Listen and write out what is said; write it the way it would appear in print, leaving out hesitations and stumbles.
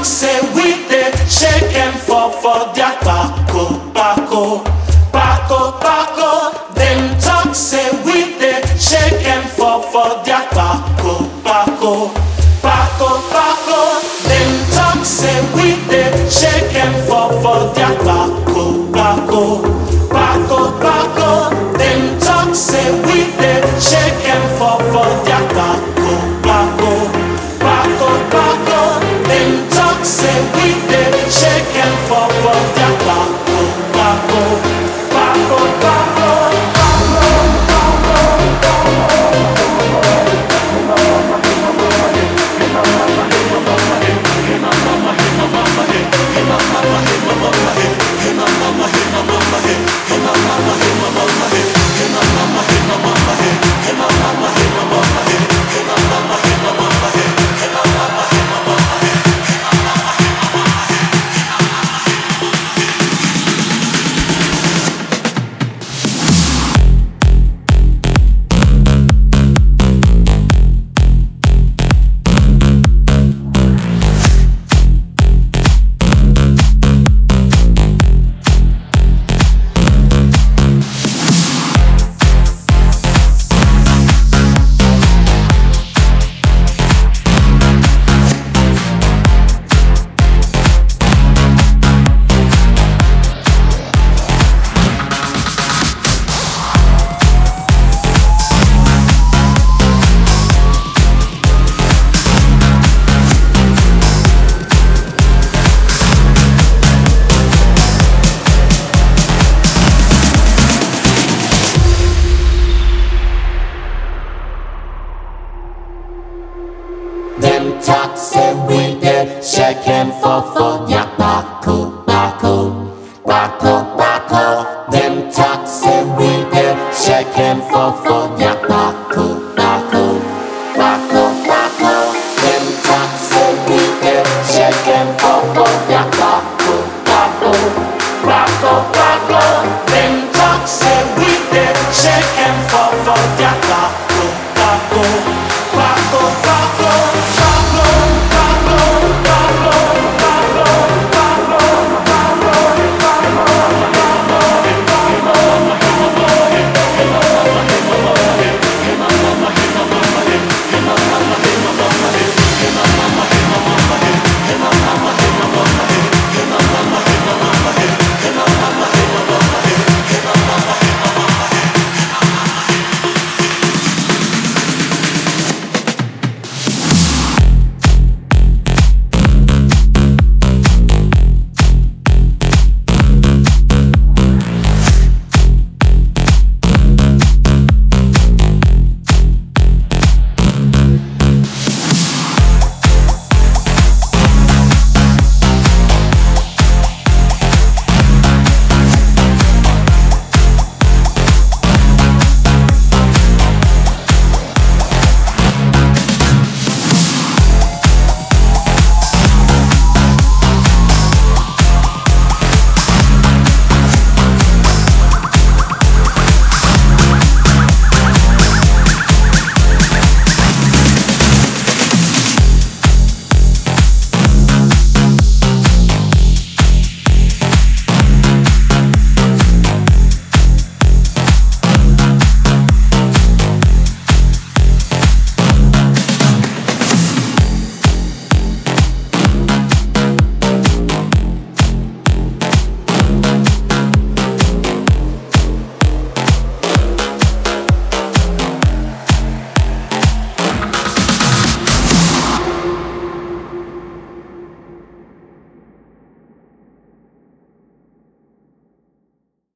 talk say we dey shake and fall for their Paco, Paco, Paco, Paco. Them talk say we dey shake and fall for their Paco, Paco, Paco, Paco. Them talk say we dey shake and fall for their Paco, Paco, Paco, Paco. Them talk say we dey shake and fall for their Paco, Paco, Paco, Paco. Them talk say we dey shake and fall for their Paco, Paco, Paco, Paco. Them talk say we dey shake and fall for ya.